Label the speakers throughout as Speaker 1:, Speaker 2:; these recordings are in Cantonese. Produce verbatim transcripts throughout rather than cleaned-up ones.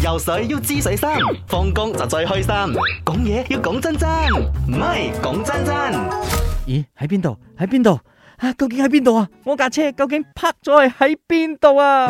Speaker 1: 游水要知水深，放工就最開心。講嘢要講真真，唔係講真真。
Speaker 2: 咦？喺邊度？喺邊度？啊，究竟喺邊度啊？我架車究竟泊咗係喺邊度啊？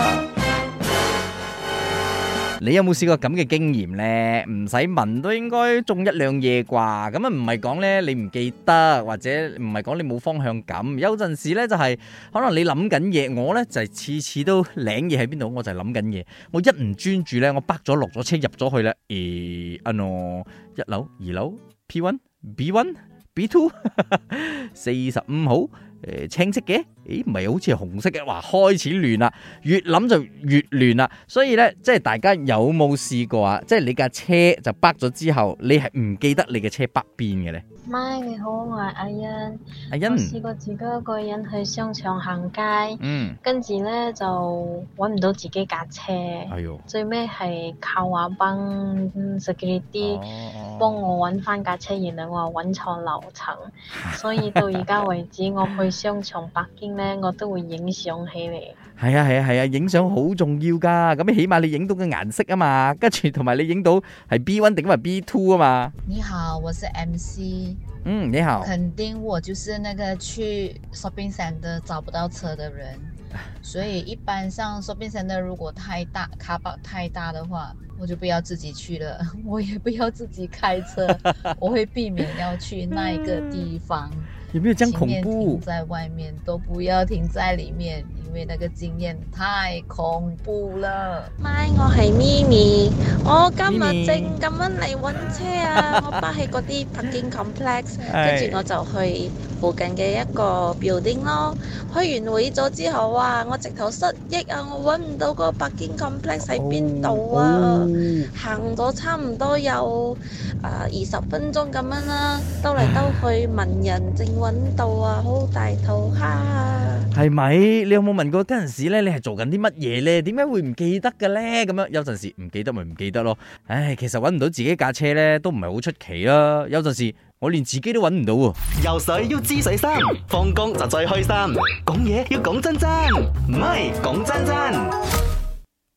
Speaker 2: 你有冇試過咁嘅經驗呢？唔使問都應該中一兩嘢啩。咁啊唔係講呢，你唔記得，或者唔係講你冇方向感。有陣時呢，就係可能你諗緊嘢，我呢就係次次都領嘢喺邊度，我就係諗緊嘢。我一唔專注呢，我北咗落咗車入咗去咧，誒啊喏，一樓二樓 P 一 B 一 B 二 四十五號。誒，青色嘅，誒，唔係好似係紅色嘅，哇，開始亂啦，越諗就越亂啦，所以咧，即係大家有冇試過啊？即係你架車就北咗之後，你係唔記得你嘅車北邊嘅咧？
Speaker 3: 咪你好，我係阿欣。
Speaker 2: 阿欣，
Speaker 3: 我試過自己一個人去商場行街，
Speaker 2: 嗯，
Speaker 3: 跟住咧就揾唔到自己架車，
Speaker 2: 哎呦，
Speaker 3: 最尾係靠話幫 security
Speaker 2: 哦
Speaker 3: 幫我揾翻架車，原來我揾錯樓層，所以到而家為止，我去商場北京咧，我都會影相起嚟。
Speaker 2: 係啊係啊係啊，影相好重要噶，咁起碼你影到個顏色啊嘛，跟住同埋你影到係 B 一 定係 B 二啊嘛。
Speaker 4: 你好，我是 M C。
Speaker 2: 嗯，你好。
Speaker 4: 肯定我就是那個去 shopping center 找不到車的人，所以一般上 shopping center 如果太大 car park 太大的話，我就不要自己去了，我也不要自己開車，我會避免要去那一個地方。
Speaker 2: 有沒有這樣恐
Speaker 4: 情願
Speaker 2: 怖
Speaker 4: 停？在外面都不要停在裏面，因為那個經驗太恐怖了。
Speaker 5: 咪，我係咪咪，我今
Speaker 2: 咪咪
Speaker 5: 日正咁樣嚟揾車啊！我巴喺嗰啲 parking complex，跟住我就去附近嘅一個 building 咯。去完會咗之後啊，我直頭失憶啊！我揾唔到嗰個 parking complex 喺邊度啊！
Speaker 2: 哦
Speaker 5: 行咗差唔多有啊二十分鐘咁樣啦，兜嚟兜去問人正揾到啊，好大肚蝦。
Speaker 2: 係咪？你有冇問過嗰陣時咧？你係做緊啲乜嘢咧？點解會唔記得嘅咧？咁樣有陣時唔記得咪唔記得咯。唉，其實揾唔到自己架車咧，都唔係好出奇啦。有陣時我連自己都揾唔到喎。
Speaker 1: 游水要知水深，放工就最開心。講嘢要講真真，唔係講真真。